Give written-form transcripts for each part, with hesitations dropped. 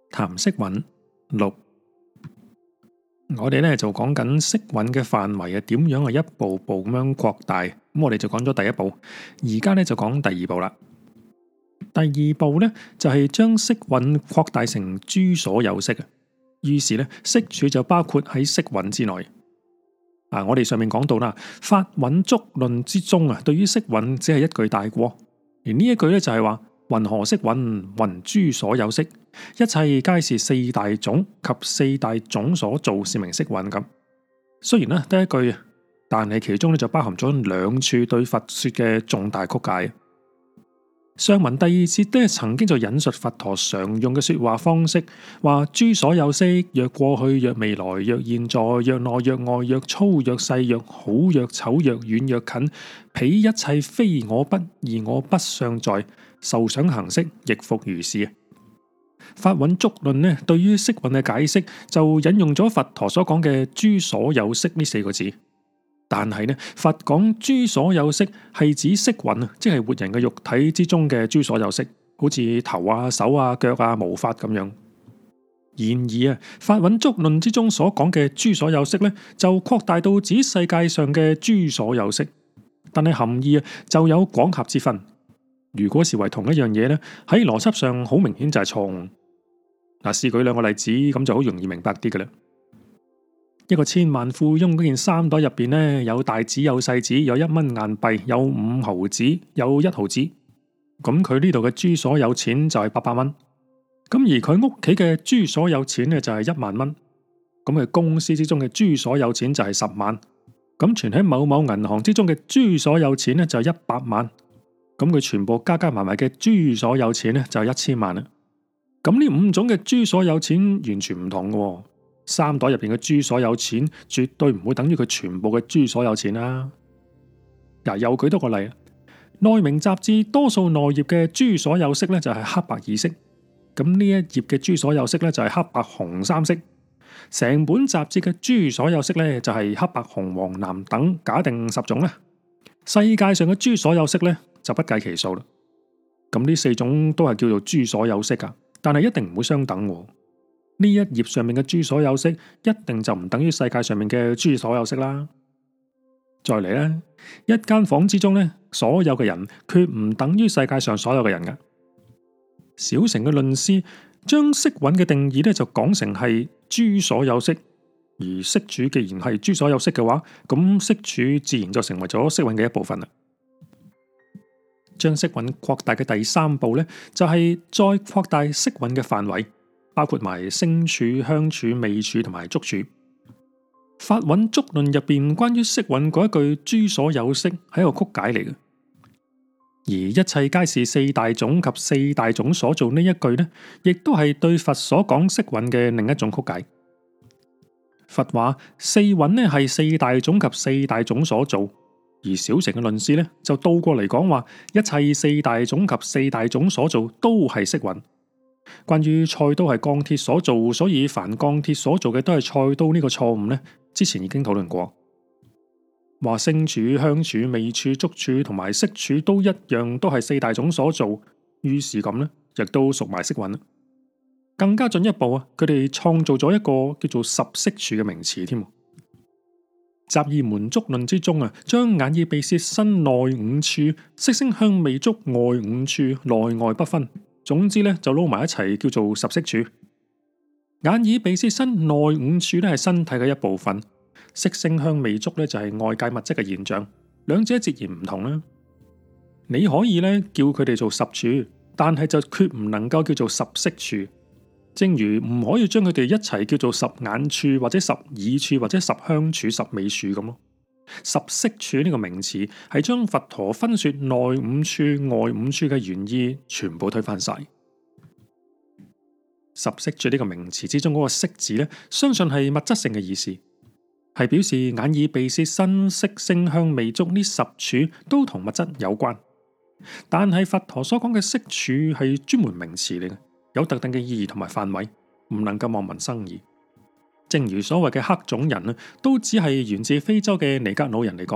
談色蘊六，我哋咧就講緊色蘊嘅範圍啊，點樣係一步步咁樣擴大。咁我哋就講咗第一步，而家咧就講第二步啦。第二步咧就係將色蘊擴大成諸所有色啊。於是咧色處就包括喺色蘊之內。我哋上面講到啦，法蘊觸論之中啊，對於色蘊只係一句帶過，而呢一句咧就係話。云何色蘊？云諸所有色，一切皆是四大種及四大種所造，是名色蘊咁。雖然咧得一句，但係其中咧就包含咗兩處對佛說嘅重大曲解。上文第二節咧曾經就引述佛陀常用嘅說話方式，話諸所有色，若過去，若未來，若現在，若內，若外，若粗，若細，若好，若醜，若遠，若近，彼一切非我不而我不相在。受想行識亦復如是。法蘊觸論呢，對於色蘊嘅解釋就引用咗佛陀所講嘅諸所有色呢四個字。但係呢，佛講諸所有色係指色蘊啊，即係活人嘅肉體之中嘅諸所有色，好似頭啊、手啊、腳啊、毛髮咁樣。然而法蘊觸論之中所講嘅諸所有色呢，就擴大到指世界上嘅諸所有色，但係含義就有廣狹之分。如果視為同一樣嘢咧，喺邏輯上好明顯就係錯誤。試舉兩個例子，咁就好容易明白啲嘅啦。一個千萬富翁嗰件衫袋入邊呢，有大紙有細紙，有1蚊硬幣，有5毫紙，有1毫紙。咁佢呢度嘅諸所有錢就係800蚊。咁而佢屋企嘅諸所有錢呢，就係1萬蚊。咁佢公司之中嘅諸所有錢就係10萬。咁存喺某某銀行之中嘅諸所有錢呢，就係100萬。咁佢全部加加埋埋嘅諸所有錢咧就1000萬啦。咁呢5種嘅諸所有錢完全唔同嘅，衫袋入邊嘅諸所有錢絕對唔會等於佢全部嘅諸所有錢啦。又舉多個例，內明雜誌多數內頁嘅諸所有色咧就係黑白二色，咁呢一頁嘅諸所有色咧就係黑白紅3色，成本雜誌嘅諸所有色咧就係黑白紅黃藍等，假定10種啦。世界上嘅諸所有色咧就不計其數啦。咁呢4種都係叫做諸所有色噶，但係一定唔會相等。呢一頁上面嘅諸所有色一定就唔等於世界上面嘅諸所有色啦。再嚟咧，一間房之中咧，所有嘅人決唔等於世界上所有嘅人噶。小乘嘅論師將色蘊嘅定義咧就講成係諸所有色，而色處既然係諸所有色嘅話，咁色處自然就成為咗色蘊嘅一部分啦。將色蘊擴大嘅第3步咧，就係再擴大色蘊嘅範圍，包括埋聲處、香處、味處同埋觸處。法蘊觸論入邊關於色蘊嗰一句諸所有色係一個曲解嚟嘅，而一切皆是四大種及四大種所造呢一句呢，亦都係對佛所講色蘊嘅另一種曲解。佛話四蘊呢係四大種及四大種所造。而小乘嘅論師咧就倒過嚟講話，一切四大種及四大種所造都係色蘊。關於菜刀係鋼鐵所造，所以凡鋼鐵所造嘅都係菜刀呢個錯誤呢，之前已經討論過。話聲處、香處、味處、觸處同埋色處都一樣，都係四大種所造，於是咁呢，亦都屬埋色蘊啦。更加進一步啊，佢哋創造咗一個叫做十色處嘅名詞添。集異門觸論之中啊，將眼耳鼻舌身內5處、色聲香味觸外5處內外不分，總之咧就撈埋一齊叫做十色處。眼耳鼻舌身內5處咧係身體嘅一部分，色聲香味觸咧就係外界物質嘅現象，兩者截然唔同啦。你可以咧叫佢哋做十處，但係就決唔能夠叫做十色處。正如唔可以將佢哋一齊叫做十眼處或者十耳處或者十香處、十味處咁咯。十色處呢個名詞係將佛陀分說內5處、外5處嘅原意全部推翻晒。十色處呢個名詞之中嗰個色字呢，相信係物質性嘅意思，係表示眼耳鼻舌身色聲香味觸呢10處都同物質有關。但係佛陀所講嘅色處係專門名詞嚟嘅，有特定嘅意義同埋範圍，唔能夠望文生義。正如所謂嘅黑種人啊，都只係源自非洲嘅尼格魯人嚟講，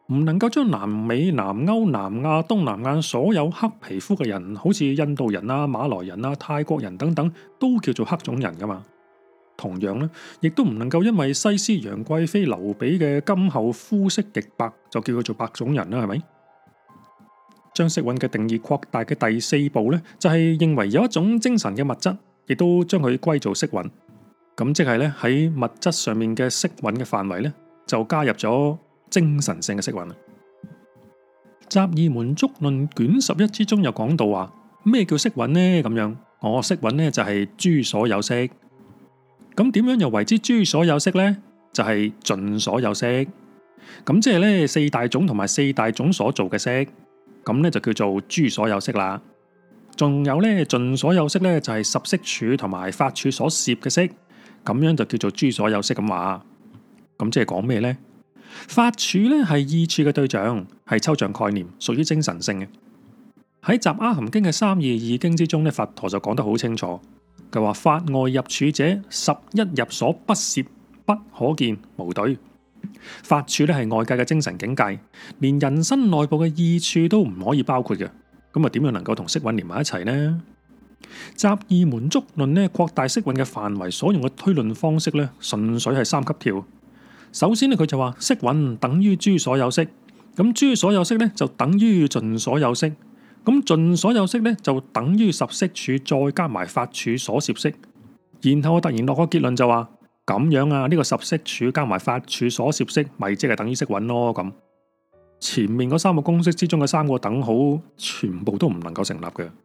唔能夠將南美、南歐、南亞、東南亞所有黑皮膚嘅人，好似印度人啊、馬來人啊、泰國人等等，都叫做黑種人噶嘛。同樣咧，亦都唔能夠因為西施、楊貴妃、劉備嘅今後膚色極白，就叫佢做白種人啦，係咪？將色蘊嘅定義擴大嘅第四步咧，就係認為有一種精神嘅物質，亦都將佢歸做色蘊。咁即係咧，喺物質上面嘅色蘊嘅範圍咧，就加入咗精神性嘅色蘊啦。《雜異門觸論》卷11之中有講到話，咩叫色蘊呢？咁樣，色蘊呢就係諸所有色。咁點樣又為之諸所有色呢？就係盡所有色。咁即係咧，四大種同埋四大種所做嘅色，咁咧就叫做諸所有色啦。仲有咧，盡所有色咧就係十色處同埋法處所攝嘅色，咁樣就叫做諸所有色咁話。咁即係講咩呢？法處咧係意處嘅對象，係抽象概念，屬於精神性嘅。喺《雜阿含經》嘅三義義經之中咧，佛陀就講得好清楚。佢話法外入處者，十一入所不攝，不可見，無對。法處咧係外界嘅精神境界，連人身內部嘅意處都唔可以包括嘅。咁啊，點樣能夠同色蘊連埋一齊呢？雜異門觸論呢，擴大色蘊嘅範圍所用嘅推論方式咧，純粹係三級跳。首先咧，佢就話色蘊等於諸所有色，咁諸所有色咧就等於盡所有色。咁盡所有色咧就等於十色處再加埋法處所攝色，然後我突然落個結論就話咁樣啊，呢個十色處加埋法處所攝色，咪即係等於色蘊咯。咁前面嗰三個公式之中嘅三個等號，全部都唔能夠成立嘅。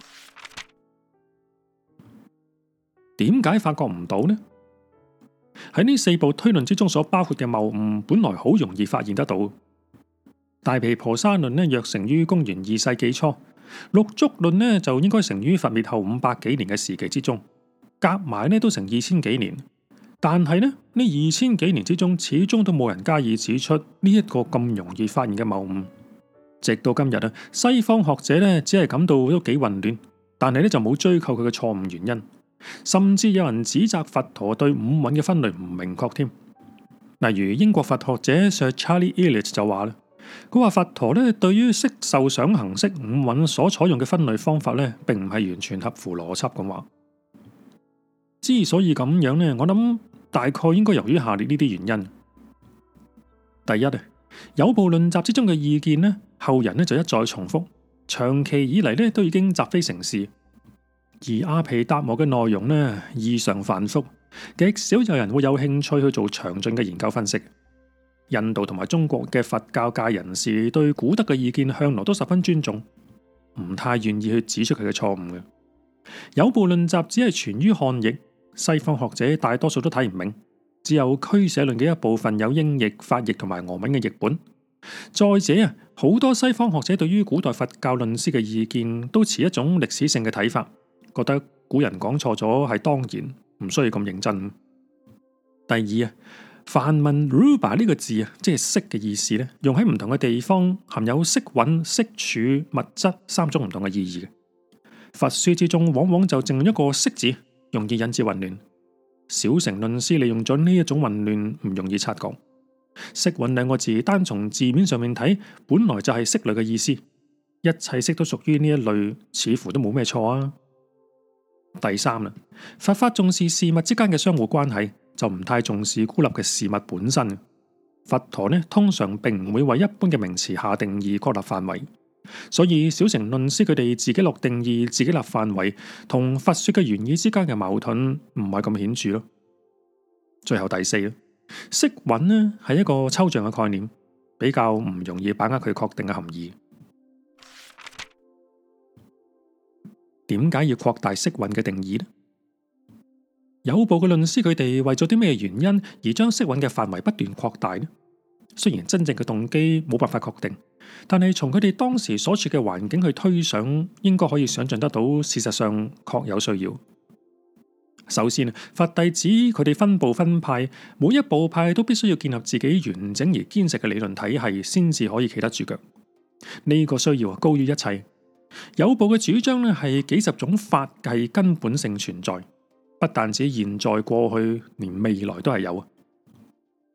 點解發覺唔到呢？喺呢四部推論之中所包括嘅謬誤，本來好容易發現得到。大毗婆沙論呢，約成於公元2世紀初；六足論呢，就應該成於佛滅後500幾年嘅時期之中，夾埋呢都成2000幾年。但係呢2000幾年之中，始終都冇人加以指出呢一個咁容易發現嘅謬誤。直到今日啊，西方學者呢只係感到都幾混亂，但係呢就冇追究佢嘅錯誤原因，甚至有人指責佛陀對五蘊嘅分類唔明確添。例如英國佛學者 Sir Charles Eliot 就話啦。佢話佛陀咧對於色受想行識五蘊所採用嘅分類方法咧，並唔係完全合乎邏輯咁話。之所以咁樣咧，我諗大概應該由於下列呢啲原因。第一啊，有部論集之中嘅意見咧，後人咧就一再重複，長期以嚟咧都已經習非成是。而阿毗達磨嘅內容咧異常繁複，極少有人會有興趣去做詳盡嘅研究分析。印度同埋中國嘅佛教界人士對古德嘅意見向來都十分尊重，唔太願意去指出佢嘅錯誤嘅。有部論集只係存於漢譯，西方學者大多數都睇唔明，只有俱舍論嘅一部分有英譯、法譯同埋俄文嘅譯本。再者啊，好多西方學者對於古代佛教論師嘅意見都持一種歷史性嘅睇法，覺得古人講錯咗係當然，唔需要咁認真。第二啊，梵文 rupa 呢個字啊，即係色嘅意思咧，用喺唔同嘅地方，含有色蘊、色處、物質三種唔同嘅意義嘅。佛書之中往往就淨用一個色字，容易引致混亂。小乘論師利用咗呢一種混亂，唔容易察覺。色蘊兩個字單從字面上面睇，本來就係色類嘅意思，一切色都屬於呢一類，似乎都冇咩錯啊。第三啦，佛法重視事物之間嘅相互關係，就唔太重視孤立嘅事物本身。佛陀呢，通常並唔會為一般嘅名詞下定義、確立範圍，所以小乘論師佢哋自己落定義、自己立範圍，同佛說嘅原意之間嘅矛盾唔係咁顯著咯。最後第四啦，色蘊呢係一個抽象嘅概念，比較唔容易把握佢確定嘅含義。點解要擴大色蘊嘅定義呢？有部嘅論師佢哋為咗啲咩原因而將色蘊嘅範圍不斷擴大呢？雖然真正嘅動機冇辦法確定，但係從佢哋當時所處嘅環境去推想，應該可以想象得到，事實上確有需要。首先，佛弟子佢哋分部分派，每一部派都必須要建立自己完整而堅實嘅理論體系，先至可以企得住腳。呢個需要高於一切。有部嘅主張咧係幾十種法係根本性存在，不但止現在過去，連未來都係有。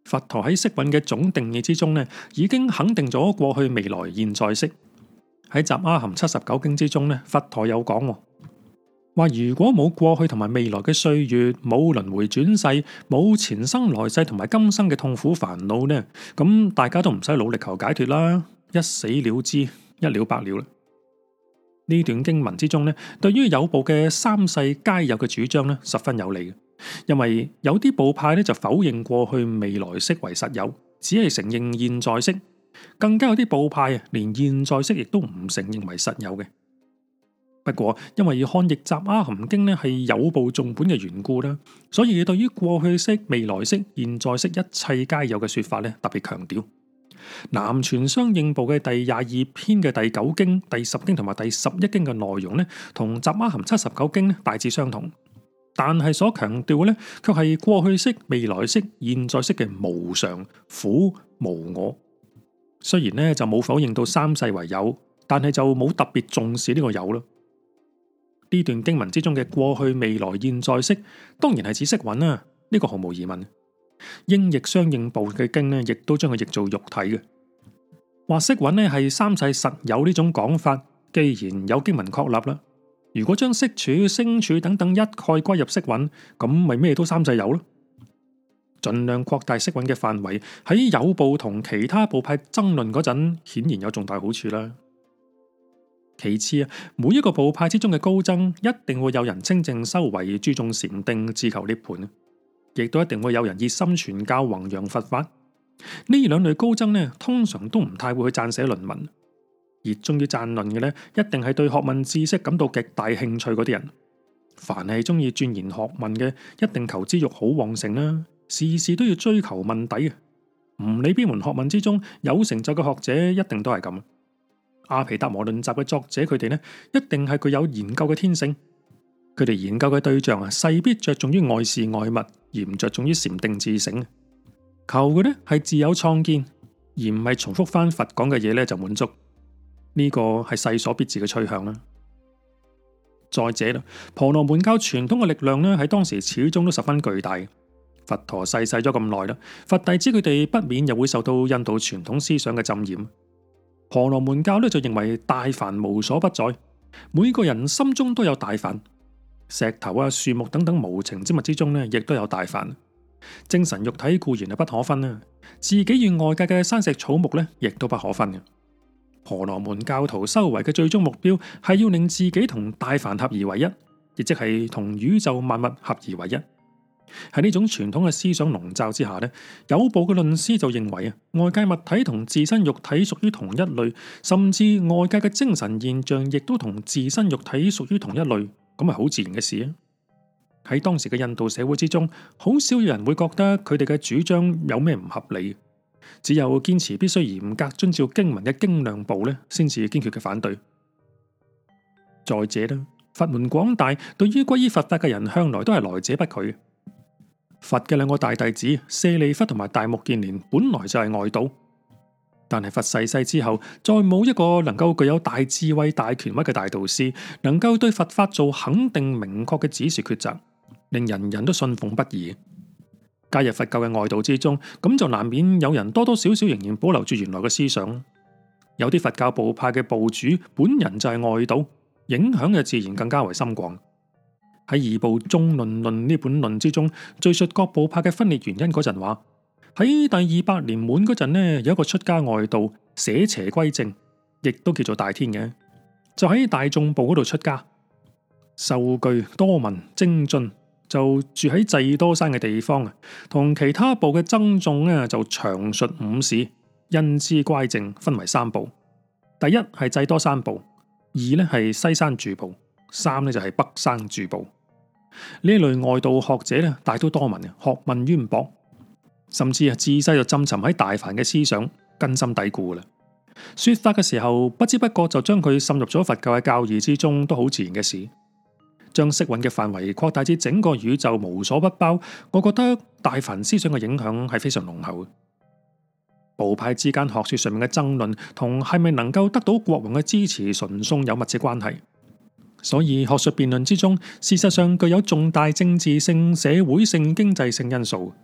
佛陀喺色蘊嘅總定義之中呢，已經肯定咗過去、未來、現在式。喺《雜阿含79經》之中呢，佛陀有講話，如果冇過去同埋未來嘅歲月，冇輪迴轉世，冇前生來世同埋今生嘅痛苦煩惱呢，咁大家都唔使努力求解脫啦，一死了之，一了百了啦。呢段經文之中呢，對於有部嘅三世皆有嘅主張呢，十分有利嘅。因為有啲部派呢就否認過去未來式為實有，只係承認現在式，更加有啲部派連現在式亦都唔承認為實有嘅。不過因為漢譯雜阿含經呢係有部重本嘅緣故啦，所以對於過去式、未來式、現在式一切皆有嘅說法呢，特別強調。南傳相應部嘅第22篇嘅第9經、第10經同埋第11經嘅內容呢，同雜阿含79經呢大致相同，但係所強調嘅呢，卻係過去式、未來式、現在式嘅無常、苦、無我。雖然呢就冇否認到三世為有，但係就冇特別重視呢個有咯。呢段經文之中嘅過去、未來、現在式，當然係指色蘊啦，呢個毫無疑問。英譯相應部嘅經呢，亦都將佢譯做肉體嘅。話色蘊呢係三世實有呢種講法，既然有經文確立啦，如果將色處、聲處等等一概歸入色蘊，咁咪咩都三世有咯。盡量擴大色蘊嘅範圍，喺有部同其他部派爭論嗰陣，顯然有重大好處啦。其次啊，每一個部派之中嘅高僧，一定會有人清淨修為、注重禪定、自求涅槃，亦都一定會有人熱心傳教、弘揚佛法。呢兩類高僧呢，通常都唔太會去撰寫論文。熱衷於撰論嘅呢，一定係對學問知識感到極大興趣嗰啲人。凡係中意鑽研學問嘅，一定求知欲好旺盛啦，事事都要追求問底嘅。唔理邊門學問之中有成就嘅學者，一定都係咁。阿毗達摩論集嘅作者，佢哋呢，一定係具有研究嘅天性。佢哋研究嘅對象啊，勢必着重於外事外物，而唔着重於禪定自省。求嘅呢係自有創建，而唔係重複翻佛講嘅嘢呢就滿足。呢個係世所必至嘅趨向啦。再者啦，婆羅門教傳統嘅力量呢，喺當時始終都十分巨大。佛陀逝世咗咁耐啦，佛弟子佢哋不免又會受到印度傳統思想嘅浸染。婆羅門教呢就認為大梵無所不在，每個人心中都有大梵，石頭啊、樹木等等無情之物之中呢，亦都有大梵。精神肉體固然係不可分啦，自己與外界嘅山石草木呢，亦都不可分嘅。婆羅門教徒修為嘅最終目標係要令自己同大梵合而為一，亦即係同宇宙萬物合而為一。喺呢種傳統嘅思想籠罩之下呢，有部嘅論師就認為啊，外界物體同自身肉體屬於同一類，甚至外界嘅精神現象亦都同自身肉體屬於同一類，咁係好自然嘅事啊。喺當時嘅印度社會之中，好少有人會覺得佢哋嘅主張有咩唔合理，只有堅持必須嚴格遵照經文嘅經量部呢，先至堅決嘅反對。再者呢，佛門廣大，對於皈依佛法嘅人向來都係來者不拒。佛嘅兩個大弟子舍利弗同埋大目犍連本來就係外道，但係佛逝世之後，再冇一個能夠具有大智慧、大權威嘅大導師，能夠對佛法做肯定明確嘅指示抉擇，令人人都信奉不疑。加入佛教嘅外道之中，咁就難免有人多多少少仍然保留住原來嘅思想。有啲佛教部派嘅部主本人就係外道，影響嘅自然更加為深廣。喺二部中論論呢本論之中，敘述各部派嘅分裂原因嗰陣話，喺第200年滿嗰陣呢，有一個出家外道捨邪歸正，亦都叫做大天嘅，就喺大眾部嗰度出家，受具多聞精進，就住喺濟多山嘅地方啊，同其他部嘅僧眾呢就詳述五事，因之歸正，分為3部。第一係濟多山部，二呢係西山住部，三呢就係北山住部。呢類外道學者咧，大都多聞，學問淵博，甚至自細就浸沉喺大梵嘅思想，根深蒂固啦。說法嘅時候，不知不覺就將佢滲入咗佛教嘅教義之中，都好自然嘅事。將色蘊嘅範圍擴大至整個宇宙，無所不包，我覺得大梵思想嘅影響係非常濃厚。部派之間學說上面嘅爭論，同係咪能夠得到國王嘅支持純送有密切關係。所以學術辯論之中，事實上具有重大政治性、社會性、經濟性因素。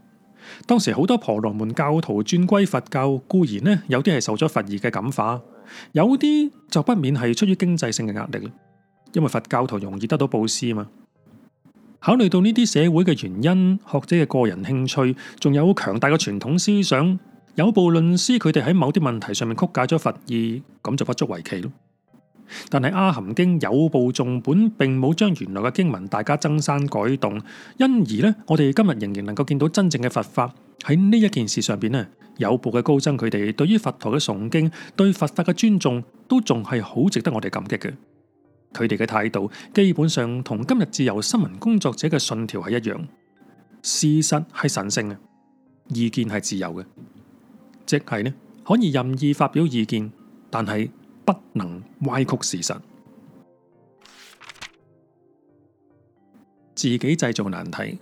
當時好多婆羅門教徒轉歸佛教，固然呢有啲係受咗佛義嘅感化，有啲就不免係出於經濟性嘅壓力，因為佛教徒容易得到布施嘛。考慮到呢啲社會嘅原因、學者嘅個人興趣，仲有強大嘅傳統思想，有部論師佢哋喺某啲問題上面曲解咗佛意，咁就不足為奇咯。但係《阿含經》有部頌本並冇將原來嘅經文大加增刪改動，因而呢，我哋今日仍然能夠見到真正嘅佛法。喺呢一件事上邊呢，有部嘅高僧佢哋對於佛陀嘅崇敬、對佛法嘅尊重，都仲係好值得我哋感激嘅。佢哋嘅態度基本上同今日自由新聞工作者嘅信條係一樣，事實係神聖嘅，意見係自由嘅，即係呢可以任意發表意見，但係不能歪曲事實，自己製造難題。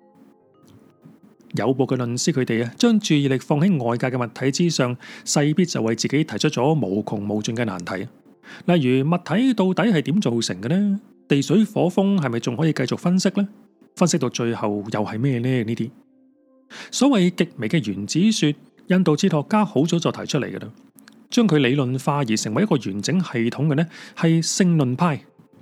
有部嘅論師佢哋將注意力放喺外界嘅物體之上，勢必就為自己提出咗無窮無盡嘅難題。例如物體到底係點造成嘅呢？地水火風係咪仲可以繼續分析呢？分析到最後又係咩呢？呢啲所謂極微嘅原子說，印度哲學家好早就提出嚟嘅啦。將佢理論化而成為一個完整系統嘅呢，係勝論派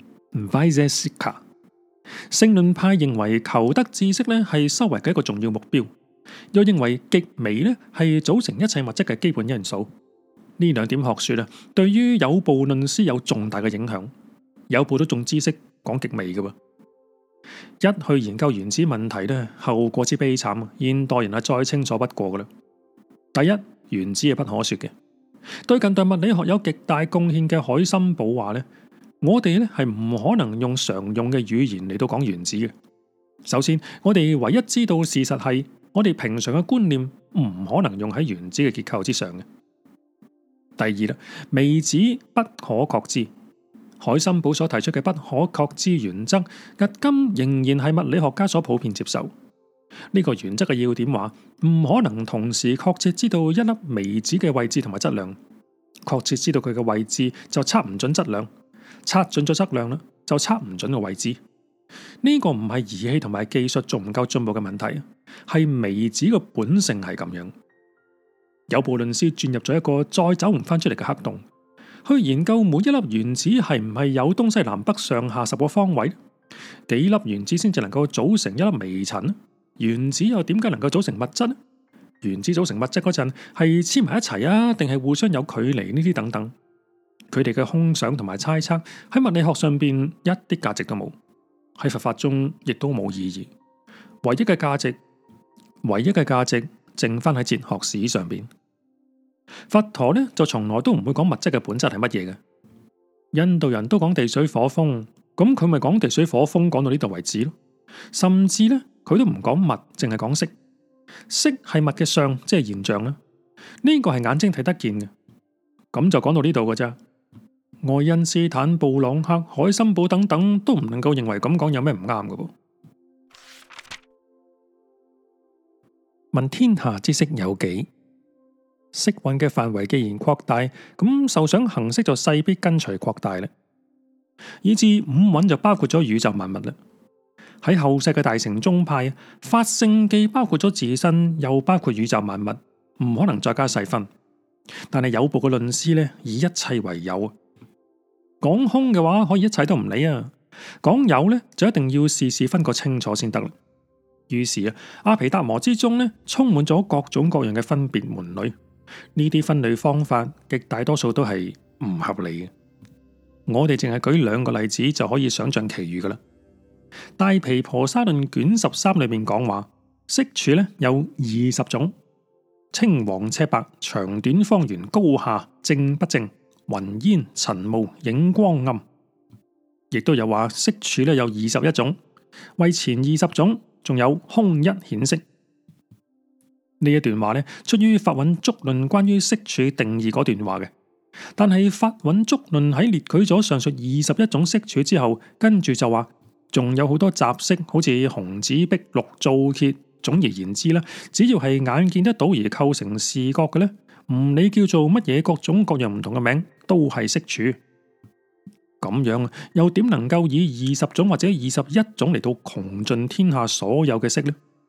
Vaisesika。勝論派認為求得知識呢係修為嘅一個重要目標，又認為極微呢係組成一切物質嘅基本因素。呢兩點學說對於有部論師有重大嘅影響。有部都重知識講極微嘅喎，一去研究原子問題呢，後果之悲慘，現代人係再清楚不過噶啦。第一，原子係不可說嘅。對近代物理學有極大貢獻嘅海森堡話呢，我哋呢係唔可能用常用嘅語言嚟到講原子嘅。首先，我哋唯一知道事實係，我哋平常嘅觀念唔可能用喺原子嘅結構之上嘅。第二啦，微子不可確知。海森堡所提出嘅不可確知原則，至今仍然係物理學家所普遍接受。呢個原則嘅要點話，唔可能同時確切知道一粒微子嘅位置同埋質量。確切知道佢嘅位置就測唔準質量，測準咗質量啦，就測唔準個位置。呢個唔係儀器同埋技術仲唔夠進步嘅問題，係微子嘅本性係咁樣。有部論師轉入咗一個再走唔翻出嚟嘅黑洞，去研究每一粒原子係唔係有東西南北上下10個方位，幾粒原子先至能夠組成一粒微塵？原子又點解能夠組成物質呢？原子組成物質嗰陣係黐埋一齊啊，定係互相有距離呢啲等等？佢哋嘅空想同埋猜測喺物理學上邊一啲價值都冇，喺佛法中亦都冇意義。唯一嘅價值剩翻喺哲學史上邊。佛陀呢就從來都唔會講物質嘅本質係乜嘢嘅。印度人都講地水火風，咁佢咪講地水火風講到呢度為止咯。甚至呢，佢都唔講物，淨係講色。色係物嘅相，即係現象啦。呢個係眼睛睇得見嘅。咁就講到呢度嘅咋。愛因斯坦、布朗克、海森堡等等都唔能夠認為咁講有咩唔啱嘅噃。問天下之色有幾？色蘊嘅範圍既然擴大，咁受想行識就勢必跟隨擴大啦。以至五蘊就包括咗宇宙萬物啦。喺後世嘅大乘宗派，法性既包括咗自身，又包括宇宙萬物，唔可能再加細分。但係有部嘅論師呢，以一切為有。講空嘅話，可以一切都唔理啊。講有呢，就一定要事事分個清楚先得啦。於是阿毗達摩之中呢，充滿咗各種各樣嘅分別門類。呢啲分類方法極大多數都係唔合理嘅。我哋淨係舉2個例子就可以想象其餘噶啦。大毗婆沙論卷13裏面講話，色處呢有20種，青黃赤白、長短方圓、高下、正不正、雲煙塵霧、影光暗，亦都有話色處呢有21種，為前20種，仲有空一顯色。呢一段話呢，出於法蘊足論關於色處定義嗰段話嘅。但係法蘊足論喺列舉咗上述21種色處之後，跟住就話仲有好多雜色，好似紅紫碧綠皂褐。總而言之啦，只要係眼見得到而構成視覺嘅呢，唔理叫做乜嘢，各種各樣唔同嘅名都係色處。咁樣又點能夠以20種或者21種嚟到窮盡天下所有嘅色呢？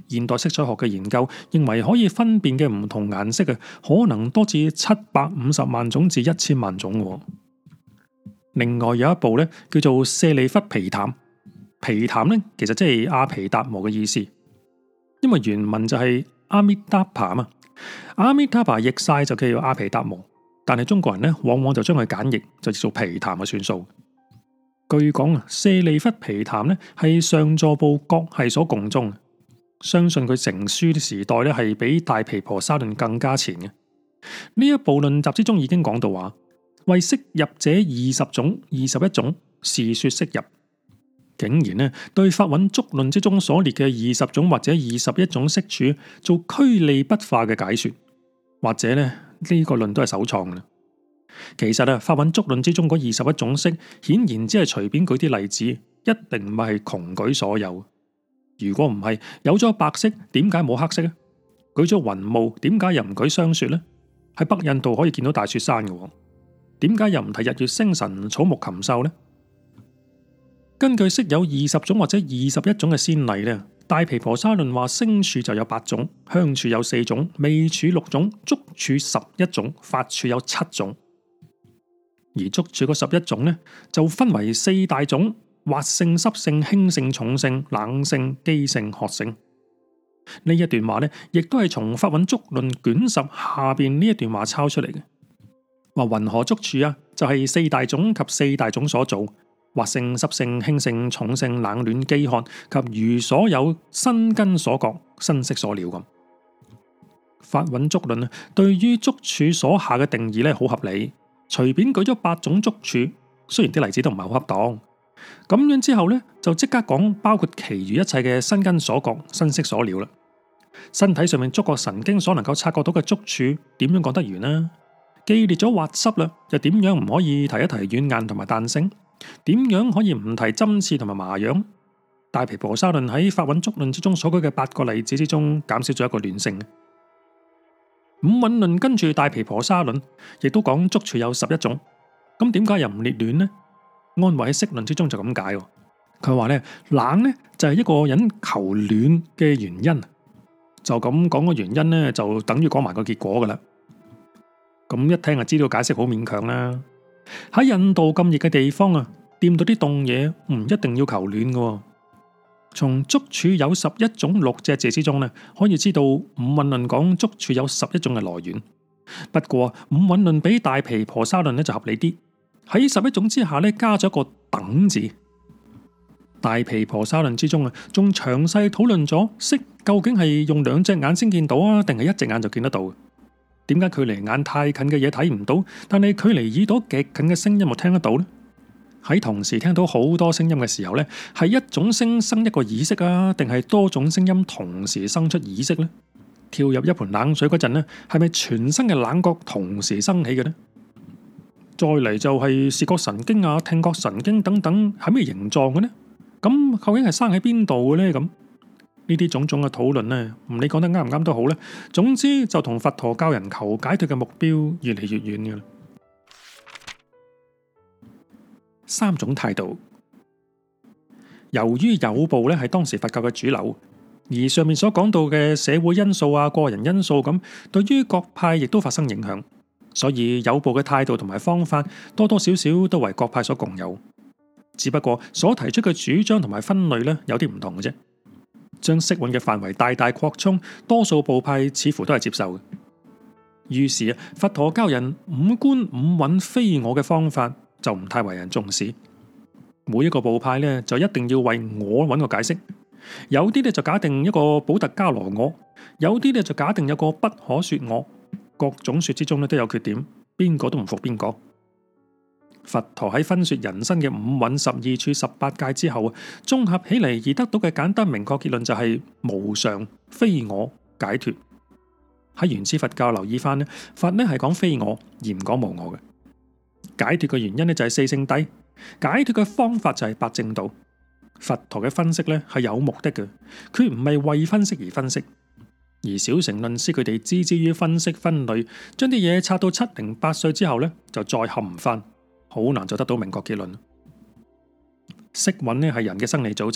現代色彩學嘅研究認為可以分辨嘅唔同顏色可能多至750萬種至1000萬種。另外有一部咧叫做舍利弗皮談，皮談咧其實即係阿毗達摩嘅意思，因為原文就係阿彌達帕嘛，阿彌達帕譯晒就叫做阿毗達摩，但係中國人咧往往就將佢簡譯就叫做皮談嘅算數。據講舍利弗皮談咧係上座部國系所共宗，相信佢成書嘅時代咧係比大毗婆沙論更加前嘅。呢一部論集之中已經講到話，為色入者20種、21種，是說色入。竟然咧對法韻足論之中所列嘅20種或者21種色處做區離不化嘅解說，或者咧呢個論都係首創嘅。其實法韻足論之中嗰21種色，顯然只係隨便舉啲例子，一定唔係窮舉所有。如果唔係，有咗白色，點解冇黑色咧？舉咗雲霧，點解又唔舉霜雪咧？喺北印度可以見到大雪山嘅，點解又唔提日月星辰、草木禽獸咧？根據色有20種或者21種嘅先例咧，大毗婆沙論話聲處就有8種，香處有4種，味處6種，觸處11種，法處有7種。而觸處嗰11種呢，就分為4大種：滑性、濕性、輕性、重性、冷性、機性、渴性。呢一段話呢，亦都係從法韻足論卷10下邊呢一段話抄出嚟嘅。話云何觸處啊，就係4大種及4大種所造，滑性、濕性、輕性、重性、冷暖、飢渴及如所有身根所覺、身色所了咁。法韻足論對於觸處所下嘅定義呢，好合理。隨便舉咗8種觸處，雖然啲例子都唔係好恰當，咁樣之後呢，就即刻講包括其餘一切嘅身根所覺、身色所了啦。身體上面觸覺神經所能夠察覺到嘅觸處，點樣講得完呢？既列咗滑濕啦，又點樣唔可以提一提軟硬同埋彈性？點樣可以唔提針刺同埋麻癢？大毗婆沙論喺法韻足論之中所舉嘅8個例子之中，減少咗一個亂性。五蘊論跟住大毗婆沙論，亦都講觸處有11種，咁點解又唔列暖呢？安慧喺釋論之中就咁解，佢話咧冷呢就係一個人求暖嘅原因，就咁講個原因呢，就等於講埋個結果噶啦。咁一聽就知道解釋好勉強啦。喺印度咁熱嘅地方啊，掂到啲凍嘢唔一定要求暖噶。從觸處有11種6隻字之中呢，可以知道五蘊論講觸處有11種嘅來源。不過五蘊論比大毗婆沙論呢就合理啲，喺11種之下呢加咗一個等字。大毗婆沙論之中啊，仲詳細討論咗色究竟係用2隻眼先見到啊，定係1隻眼就見得到？點解距離眼太近嘅嘢睇唔到，但係距離耳朵極近嘅聲音又聽得到呢？喺同時聽到好多聲音嘅時候呢，係一種聲生一個耳識啊，定係多種聲音同時生出耳識呢？跳入一盆冷水嗰陣呢，係咪全身嘅冷覺同時生起嘅呢？再嚟就係視覺神經啊、聽覺神經等等係咩形狀嘅呢？咁究竟係生喺邊度嘅呢？咁呢啲種種嘅討論呢，唔理講得啱唔啱都好咧，總之就同佛陀教人求解脫嘅目標越嚟越遠嘅啦。3種態度。由於有部咧係當時佛教嘅主流，而上面所講到嘅社會因素啊、個人因素咁，對於各派亦都發生影響，所以有部嘅態度同埋方法多多少少都為各派所共有，只不過所提出嘅主張同埋分類咧有啲唔同嘅啫。將色蘊嘅範圍大大擴充，多數部派似乎都係接受嘅。於是啊，佛陀教人五觀五蘊非我嘅方法就唔太為人重視。每一個部派咧就一定要為我揾個解釋，有啲咧就假定一個補特伽羅我，有啲咧就假定有個不可說我。各種說之中咧都有缺點，邊個都唔服邊個。佛陀喺分說人生嘅五蘊、12處、18界之後，綜合起嚟而得到嘅簡單明確結論就係無常、非我、解脫。喺原始佛教留意翻咧，佛咧係講非我而唔講無我嘅。解脫嘅原因咧就係四聖諦，解脫嘅方法就係八正道。佛陀嘅分析咧係有目的嘅，佢唔係為分析而分析。而小乘論師佢哋置之於分析分類，將啲嘢拆到7、0、8歲之後咧就再冚唔翻。好難就得到明確結論。色蘊呢係人嘅生理組織，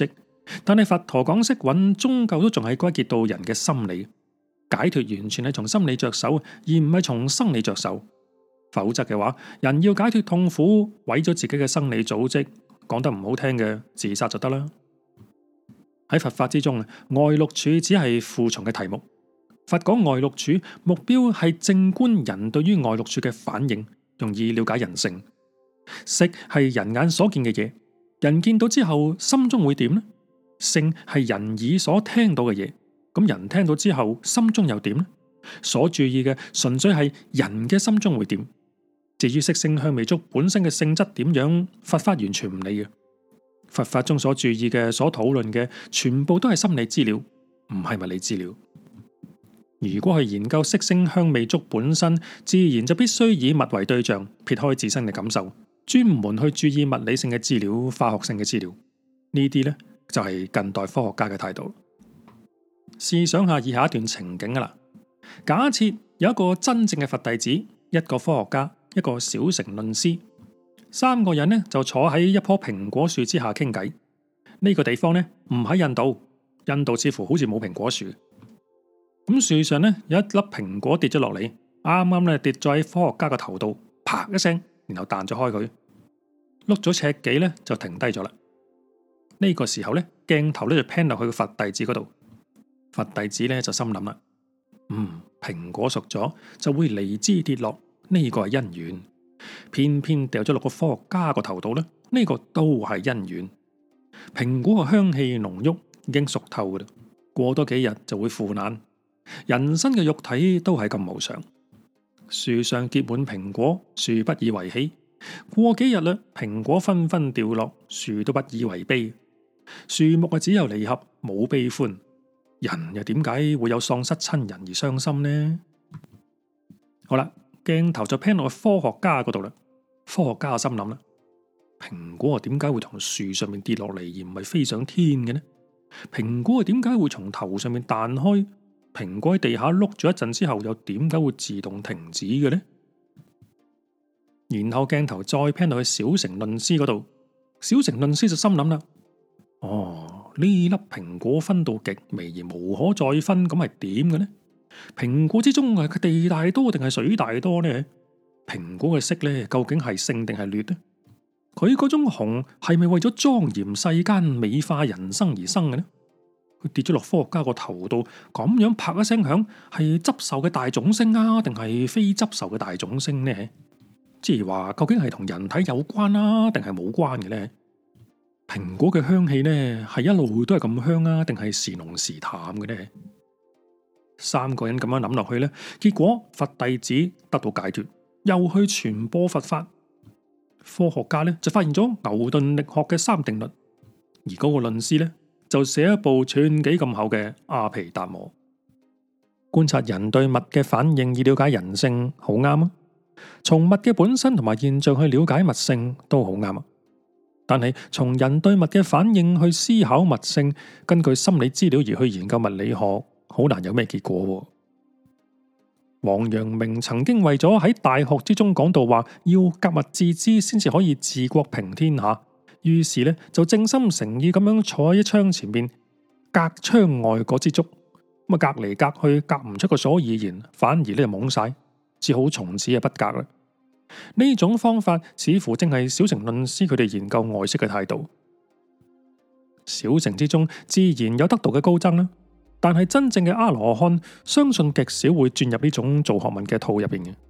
但係佛陀講色蘊，終究都仲係歸結到人嘅心理。解脫完全係從心理着手，而唔係從生理着手。否則嘅話，人要解脫痛苦，毀咗自己嘅生理組織，講得唔好聽嘅，自殺就得啦。喺佛法之中，外六處只係附從嘅題目。佛講外六處，目標係正觀人對於外六處嘅反應，容易了解人性。色係人眼所見嘅嘢，人見到之後心中會點呢？聲係人耳所聽到嘅嘢，咁人聽到之後心中又點呢？所注意嘅純粹係人嘅心中會點。至於色聲香味觸本身嘅性質點樣，佛法完全唔理嘅。佛法中所注意嘅、所討論嘅，全部都係心理資料，唔係物理資料。如果去研究色聲香味觸本身，自然就必須以物為對象，撇開自身嘅感受，專門去注意物理性嘅資料、化學性嘅資料。呢啲呢，就係近代科學家嘅態度。試想下以下一段情景啦，假設有一個真正嘅佛弟子，一個科學家，一個小乘論師，三個人呢就坐喺一棵蘋果樹之下傾偈。呢個地方呢唔喺印度，印度似乎好似冇蘋果樹。咁樹上呢有一粒蘋果跌咗落嚟，啱啱呢跌咗喺科學家個頭度，啪一聲，然後彈咗開佢，碌咗尺幾呢就停低咗啦。呢個時候呢鏡頭呢就 pan 落去個佛弟子嗰度，佛弟子呢就心諗啦，蘋果熟咗就會離枝跌落。呢個係因緣，偏偏掉咗落個科學家個頭度咧，呢個都係因緣。蘋果嘅香氣濃郁，已經熟透噶啦，過多幾日就會腐爛。人身嘅肉體都係咁無常，樹上結滿蘋果，樹不以為喜。過幾日啦，蘋果紛紛掉落，樹都不以為悲。樹木啊，只有離合，冇悲歡。人又點解會有喪失親人而傷心呢？好啦。鏡頭就 pan 落去科學家嗰度啦。科學家心諗啦，蘋果啊點解會從樹上面跌落嚟，而唔係飛上天嘅呢？蘋果啊點解會從頭上面彈開？蘋果喺地下碌咗一陣之後，又點解會自動停止嘅呢？然後鏡頭再 pan 落去小乘論師嗰度，小乘論師就心諗啦，呢粒蘋果分到極微而無可再分，咁係點嘅呢？蘋果之中係地大多定係水大多呢？蘋果嘅色呢，究竟係勝定係劣呢？佢嗰種紅係咪為咗莊嚴世間、美化人生而生嘅呢？佢跌咗落科學家個頭度，咁樣啪一聲響，係執受嘅大眾聲啊，定係非執受嘅大眾聲呢？即係話究竟係同人體有關啊，定係冇關嘅呢？蘋果嘅香氣呢，係一路都係咁香啊，定係時濃時淡嘅呢？三個人咁樣諗落去呢，結果佛弟子得到解脫，又去傳播佛法。科學家呢就發現咗牛頓力學嘅三定律，而嗰個論師呢就寫一部寸幾咁厚嘅阿毗達摩。觀察人對物嘅反應以了解人性，好啱啊！從物嘅本身同埋現象去了解物性都好啱啊！但係從人對物嘅反應去思考物性，根據心理資料而去研究物理學，好難有咩結果。王陽明曾經為咗喺大學之中講到話要格物致知先至可以治國平天下，於是呢就正心誠意咁樣坐喺一窗前面，隔窗外嗰支竹，咁啊隔嚟隔去隔唔出個所以然，反而呢就懵晒，只好從此啊不隔啦。呢種方法似乎正係小乘論師佢哋研究外色嘅態度。小乘之中自然有得道嘅高僧啦。但係真正嘅阿羅漢，相信極少會轉入呢種做學問嘅套入邊嘅。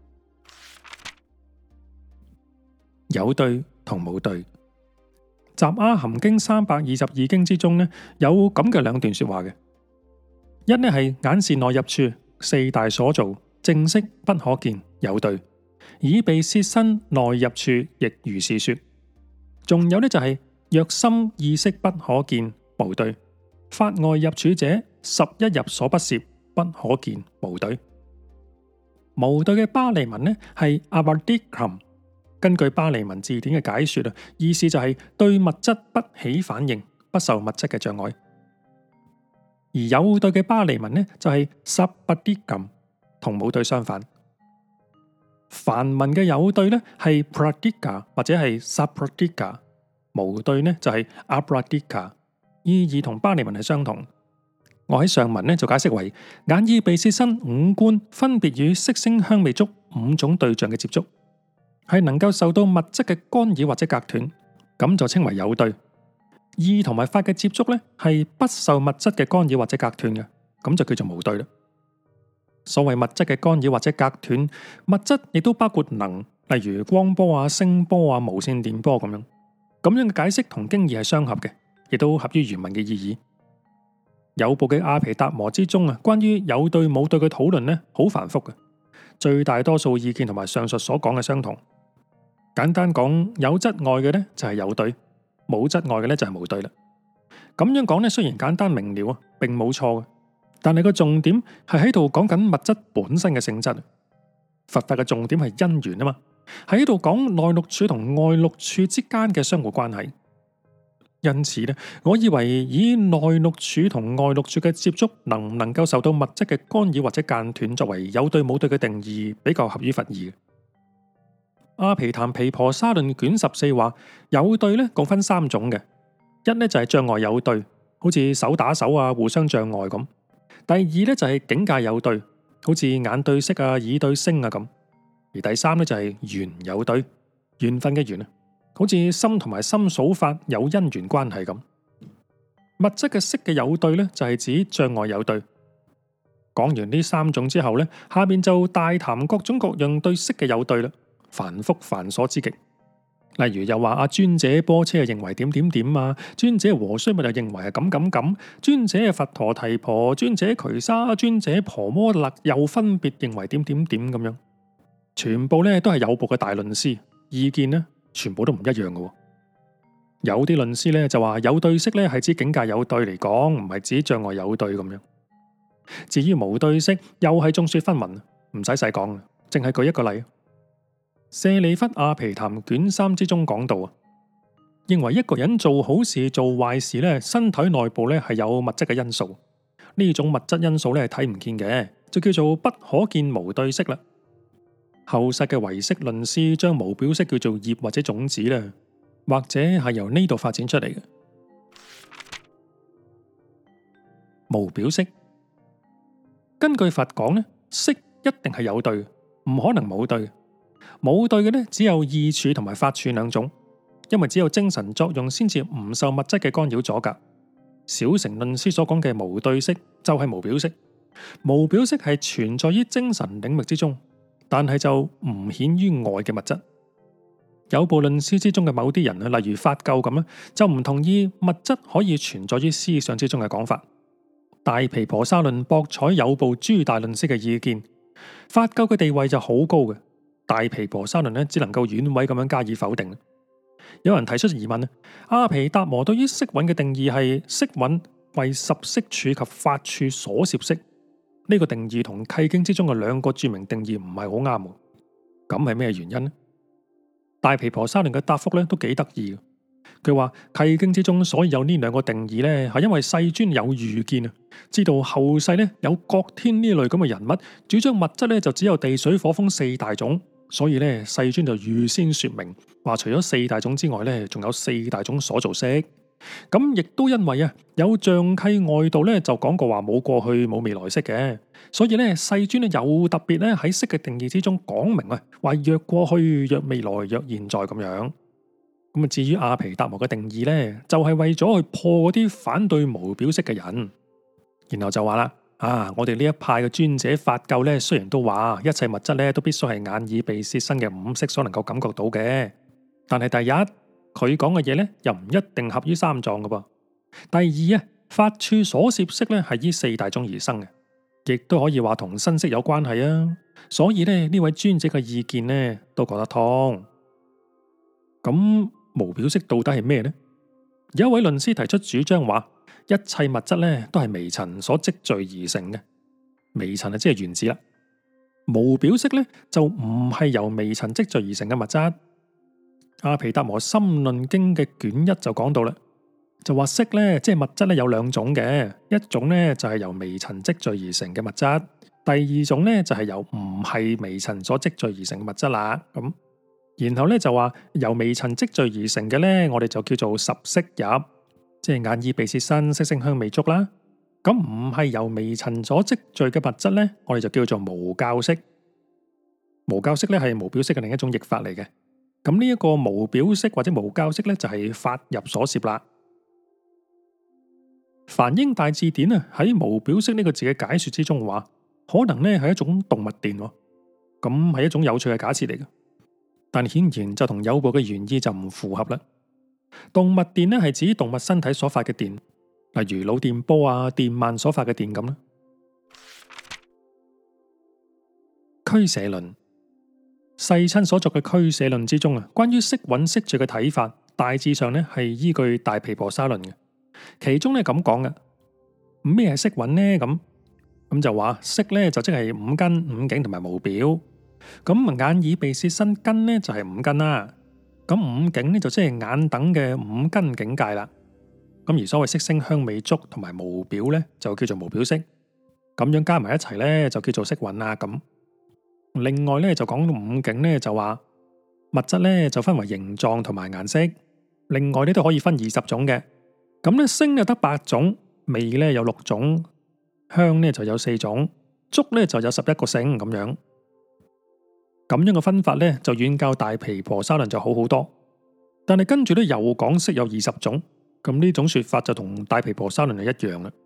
有對同冇對，《雜阿含經》322經之中呢，有咁嘅兩段說話嘅。一呢係眼是內入處，四大所造，正色不可見，有對；耳鼻舌身內入處，亦如是說。仲有呢就係若心意識不可見，無對；法外入處者，十一入所不攝，不可見，無對。無對嘅巴利文呢係 abadikam， 根據巴利文字典嘅解說啊，意思就係對物質不起反應，不受物質嘅障礙。而有對嘅巴利文呢就係 sabadikam， 同無對相反。梵文嘅有對呢係 pradika 或者係 sapradika， 無對呢就係 abradika。 意義同巴利文係相同。我喺上文呢就解釋為眼耳鼻舌身五官分別與色聲香味觸五種對象嘅接觸，係能夠受到物質嘅干擾或者隔斷，咁就稱為有對。意同埋法嘅接觸呢係不受物質嘅干擾或者隔斷嘅，咁就叫做無對啦。所謂物質嘅干擾或者隔斷，物質亦都包括能，例如光波啊、聲波啊、無線電波咁樣。咁樣嘅解釋同經義係相合嘅，亦都合於原文嘅意義。有部嘅阿毗達摩之中啊，關於有對冇對嘅討論呢，好繁複嘅，最大多數意見同埋上述所講嘅相同。簡單講，有質礙嘅呢就係有對，冇質礙嘅呢就係無對啦。咁樣講呢，雖然簡單明了啊，並冇錯嘅，但係個重點係喺度講緊物質本身嘅性質。佛法嘅重點係因緣啊嘛，喺度講內六處同外六處之間嘅相互關係。因此咧，我以為以內六處同外六處嘅接觸能唔能夠受到物質嘅干擾或者間斷，作為有對冇對嘅定義，比較合於佛義。阿毗曇毗婆沙論卷14話，有對咧共分三種嘅，一咧就係障礙有對，好似手打手啊，互相障礙咁；第二咧就係境界有對，好似眼對色啊、耳對聲啊咁；而第三咧就係緣有對，緣分嘅緣啊。好似心同埋心數法有因緣關係咁。物質嘅色嘅有對呢，就係指障礙有對。講完呢三種之後呢，下面就大談各種各樣對色嘅有對啦，繁複繁瑣之極。例如又話阿尊者波車認為點點點啊，尊者和須密又認為係咁，尊者佛陀提婆，尊者瞿沙，尊者婆摩勒又分別認為點點點咁樣，全部呢都係有部嘅大論師，意見呢全部都唔一樣嘅。有啲論師咧就話有對色咧係指境界有對嚟講，唔係指障礙有對咁樣。至於無對色，又係眾說紛紜，唔使細講，淨係舉一個例。舍利弗阿毗曇卷3之中講到啊，認為一個人做好事做壞事咧，身體內部咧係有物質嘅因素，呢種物質因素咧係睇唔見嘅，就叫做不可見無對色啦。後世嘅唯識論師將無表色叫做業或者種子啦，或者係由呢度發展出嚟嘅。無表色，根據佛講呢，色一定係有對，唔可能冇對。冇對嘅呢，只有意處同埋法處兩種，因為只有精神作用先至唔受物質嘅干擾阻隔。小乘論師所講嘅無對色就係無表色，無表色係存在於精神領域之中，但係就唔顯於外嘅物質。有部論師之中嘅某啲人啊，例如法垢咁咧，就唔同意物質可以存在於思想之中嘅講法。大毗婆沙論博採有部諸大論師嘅意見，法垢嘅地位就好高嘅。大毗婆沙論咧，只能夠軟委咁樣加以否定。有人提出疑問啊，阿毗達摩對於色蘊嘅定義係色蘊為十色處及法處所攝色，呢個定義同契經之中嘅兩個著名定義唔係好啱喎。咁係咩原因呢？大毗婆沙論嘅答覆咧都幾得意嘅。佢話契經之中所以有呢兩個定義咧，係因為世尊有預見啊，知道後世咧有覺天呢類咁嘅人物，主張物質咧就只有地水火風四大種。所以咧，世尊就預先說明，話除咗四大種之外咧，仲有四大種所造色。咁亦都因為啊，有象契外道咧就講過話冇過去冇未來色嘅，所以咧世尊咧有特別咧喺色嘅定義之中講明啊，話若過去、若未來、若現在咁樣。咁啊，至於阿毗達摩嘅定義咧，就係為咗去破嗰啲反對無表色嘅人，然後就話啦。我哋呢一派嘅尊者法垢咧，雖然都話一切物質咧都必須係眼耳鼻舌身嘅五色所能夠感覺到嘅，但係第一佢講嘅嘢咧又唔一定合於三藏嘅噃。第二啊，法處所攝色咧係依四大種而生嘅，亦都可以話同身色有關係啊。所以咧呢位尊者嘅意見咧都講得通。咁無表色到底係咩呢？有一位論師提出主張話。一切物質咧都係微塵所積聚而成嘅，微塵啊即係原子啦。無表色咧就唔係由微塵積聚而成嘅物質。阿毗達摩心論經嘅卷1就講到啦，就話色咧即係物質咧有兩種嘅，一種咧就係由微塵積聚而成嘅物質，第二種咧就係由唔係微塵所積聚而成嘅物質啦。咁然後咧就話由微塵積聚而成嘅咧，我哋就叫做十色入。 即係眼耳鼻舌身色聲香味觸啦。咁唔係由微塵所積聚嘅物質呢，我哋就叫做無教色。無教色咧係無表色嘅另一種譯法嚟嘅。咁呢一個無表色或者無教色咧就係法入所攝啦。梵英大字典啊喺無表色呢個字嘅解說之中話，可能咧係一種動物電，咁係一種有趣嘅假設嚟嘅。但顯然就同有部嘅原意就唔符合啦。動物電咧係指動物身體所發嘅電，例如腦電波啊、電鰻所發嘅電咁啦。俱舍論，世親所作嘅俱舍論之中啊，關於色蘊色住嘅睇法，大致上咧係依據大毗婆沙論嘅。其中咧咁講嘅，咩係色蘊呢？咁就話色咧就即係五根、五境同埋無表。咁眼耳鼻舌身根咧就係五根啦。咁五境咧就即係眼等嘅五根境界啦。咁而所謂色聲香味觸同埋無表咧就叫做無表色。咁樣加埋一齊咧就叫做色蘊啦。咁另外咧就講到五境咧就話物質咧就分為形狀同埋顏色。另外咧都可以分20種嘅。咁咧聲就得8種，味咧有6種，香咧就有4種，觸咧就有11個性咁樣。咁樣嘅分法咧就遠較大毗婆沙論就好好多。但係跟住咧又講色有20種，咁呢種說法就同大毗婆沙論係一樣啦。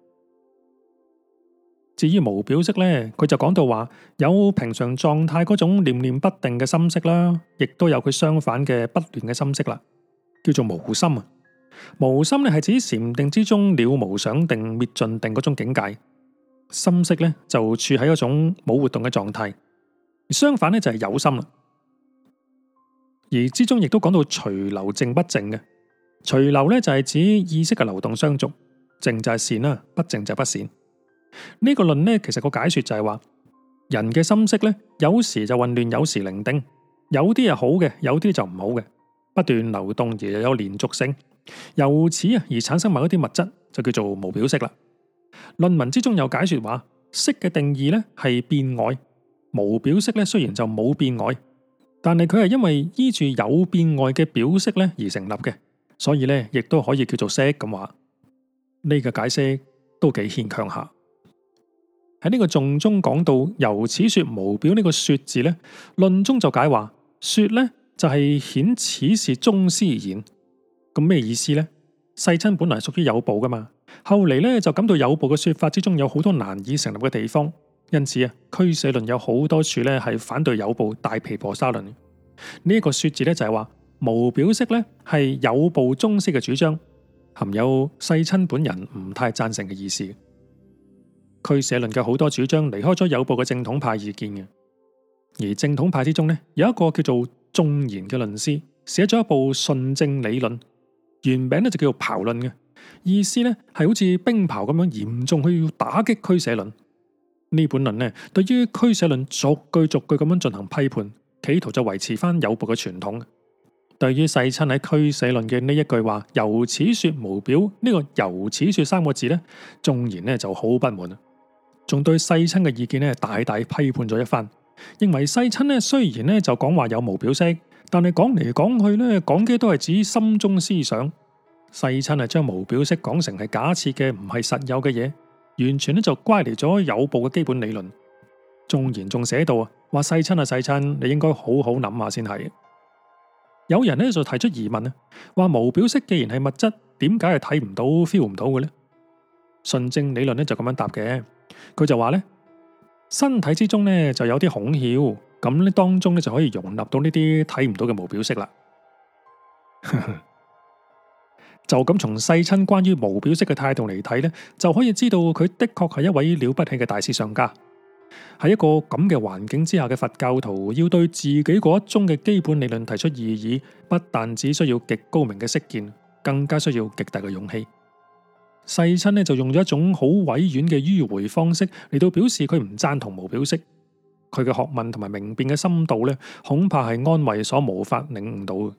至於無表色咧，佢就講到話有平常狀態嗰種念念不定嘅心識啦，亦都有佢相反嘅不亂嘅心識啦，叫做無心啊。無心咧係指禪定之中了無想定滅盡定嗰種境界，心識咧就處喺一種冇活動嘅狀態。相反咧就係有心啦，而之中亦都講到隨流靜不靜嘅。隨流咧就係指意識嘅流動相續，靜就係善啦，不靜就係不善。呢個論咧其實個解說就係話，人嘅心識咧有時就混亂，有時寧定，有啲係好嘅，有啲就唔好嘅，不斷流動而又有連續性。由此而產生某一啲物質就叫做無表色啦。論文之中有解說話，色嘅定義咧係變外，無表色咧雖然就冇變外，但係佢係因為依住有變外嘅表色咧而成立嘅，所以咧亦都可以叫做色咁話。呢個解釋都幾牽強下。喺呢個頌中講到由此說無表呢個說字咧，論中就解話說咧就係顯此是宗師言。咁咩意思呢？世親本來屬於有部噶嘛，後嚟咧就感到有部嘅說法之中有好多難以成立嘅地方，因此啊，俱舍論有好多處咧係反對有部大毗婆沙論。呢一個說字咧就係話無表色咧係有部宗師嘅主張，含有世親本人唔太贊成嘅意思。俱舍論嘅好多主張離開咗有部嘅正統派意見嘅，而正統派之中咧有一個叫做仲賢嘅論師，寫咗一部順正理論。原名咧就叫做庖論嘅，意思咧係好似冰雹咁樣嚴重去打擊俱舍論。呢本論呢對於俱舍論逐句逐句咁樣進行批判，企圖就維持翻有部嘅傳統。對於世親喺俱舍論嘅呢一句話由此說無表呢個由此說3個字咧，仲賢呢就好不滿，仲對世親嘅意見呢大大批判咗一番，認為世親呢雖然呢就講話有無表色，但係講嚟講去咧，講嘅都係指心中思想。世親係將無表色講成係假設嘅，唔係實有嘅嘢，完全咧就乖離咗有部嘅基本理論。仲賢仲寫到啊，話世親啊世親，你應該好好諗下先係。有人咧就提出疑問啊，話無表色既然係物質，點解係睇唔到 feel 唔到嘅咧？順正理論咧就咁樣答嘅，佢就話咧，身體之中咧就有啲孔竅。咁咧當中咧就可以容納到呢啲睇唔到嘅無表色啦。就咁從世親關於無表色嘅態度嚟睇咧，就可以知道佢的確係一位了不起嘅大思想家。喺一個咁嘅環境之下嘅佛教徒，要對自己嗰一宗嘅基本理論提出異議，不但只需要極高明嘅識見，更加需要極大嘅勇氣。世親咧就用咗一種好委婉嘅迂迴方式嚟到表示佢唔贊同無表色。佢嘅學問同埋明辨嘅深度咧，恐怕係安慧所無法領悟到嘅。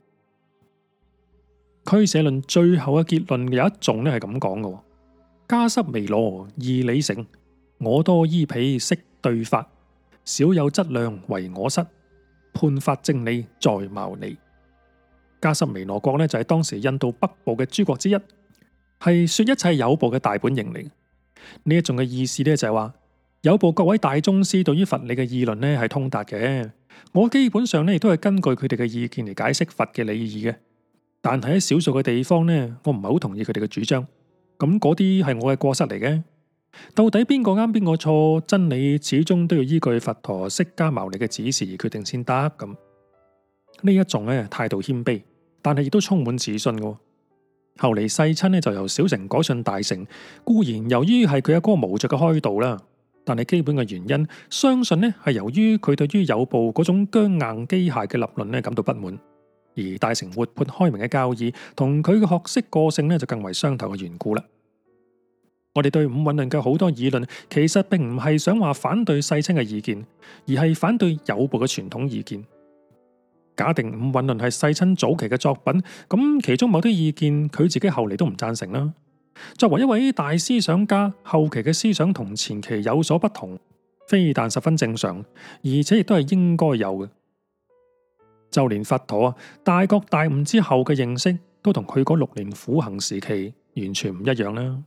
俱舍論最後嘅結論有一頌咧係咁講嘅：迦濕彌羅義理成，我多依彼識對法，少有質量為我失，判法正理在牟尼。迦濕彌羅國咧就係當時印度北部嘅諸國之一。 係說一切有部嘅大本營嚟。呢一種嘅意思咧就係話，有部各位大宗師對於佛理嘅議論咧係通達嘅。我基本上咧亦都係根據佢哋嘅意見嚟解釋佛嘅理義嘅。但係喺少數嘅地方呢，我唔係好同意佢哋嘅主張。咁嗰啲係我嘅過失嚟嘅。到底邊個啱邊個錯，真理始終都要依據佛陀釋迦牟尼嘅指示而決定先得。咁呢一種咧態度謙卑，但係亦都充滿自信嘅。後嚟世親咧就由小乘改信大乘，固然由於係佢阿哥無著嘅開導啦，但係基本嘅原因，相信咧係由於佢對於有部嗰種僵硬機械嘅立論咧感到不滿，而大乘活潑開明嘅教義同佢嘅學識個性咧就更為相投嘅緣故啦。我哋對五蘊論嘅好多議論，其實並唔係想話反對世親嘅意見，而係反對有部嘅傳統意見。假定五蘊論係世親早期嘅作品，咁其中某啲意見佢自己後嚟都唔贊成啦。作為一位大思想家，後期嘅思想同前期有所不同，非但十分正常，而且亦都係應該有嘅。就連佛陀啊大覺大悟之後嘅認識，都同佢嗰6年苦行時期完全唔一樣啦。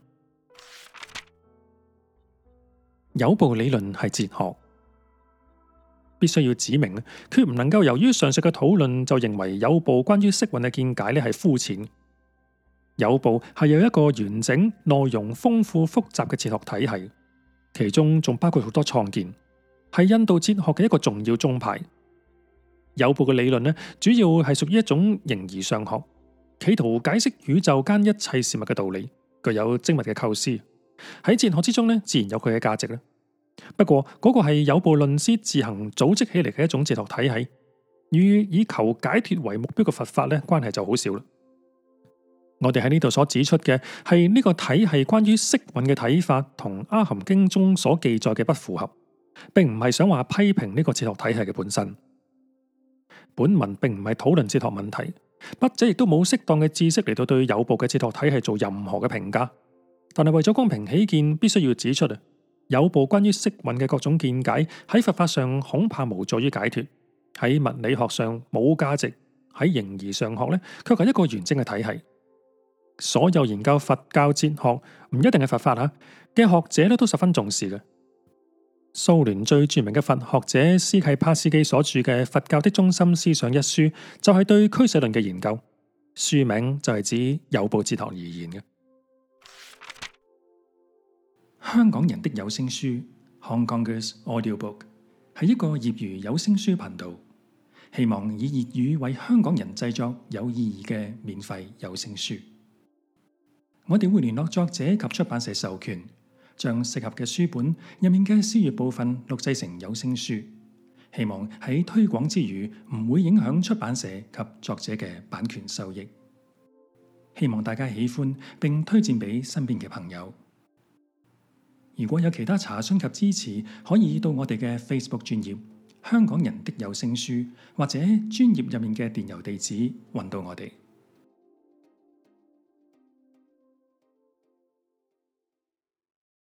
有部理論係哲學，必須要指明，決唔能夠由於上述嘅討論就認為有部關於色蘊嘅見解咧係膚淺。有部係有一個完整、內容豐富、複雜嘅哲學體系，其中仲包括好多創建，係印度哲學嘅一個重要宗派。有部嘅理論呢，主要係屬於一種形而上學，企圖解釋宇宙間一切事物嘅道理，具有精密嘅構思。喺哲學之中呢，自然有佢嘅價值啦。不過嗰個係有部論師自行組織起嚟嘅一種哲學體系，與以求解脫為目標嘅佛法呢，關係就好少啦。我哋喺呢度所指出嘅係呢個體系關於色蘊嘅睇法，同阿含經中所記載嘅不符合，並唔係想話批評呢個哲學體系嘅本身。本文並唔係討論哲學問題，筆者亦都冇適當嘅知識嚟到對有部嘅哲學體系做任何嘅評價。但係為咗公平起見，必須要指出有部關於色蘊嘅各種見解喺佛法上恐怕無助於解脫，喺物理學上冇價值，喺形而上學呢，卻係一個完整嘅體系。所有研究佛教哲學唔一定係佛法嘅學者咧，都十分重視嘅。蘇聯最著名嘅佛學者斯契帕斯基所著嘅《佛教的中心思想》一書，就係對俱舍論嘅研究，書名就係指有部哲學而言嘅。香港人的有聲書 Hong Kongers Audiobook 係一個業餘有聲書頻道，希望以粵語為香港人製作有意義嘅免費有聲書。我哋會聯絡作者及出版社授權，將適合嘅書本入面嘅詩樂部分錄製成有聲書，希望喺推廣之餘唔會影響出版社及作者嘅版權收益。希望大家喜歡並推薦俾身邊嘅朋友。如果有其他查詢及支持，可以到我哋嘅 Facebook 專頁香港人的有聲書，或者專頁入面嘅電郵地址揾到我哋。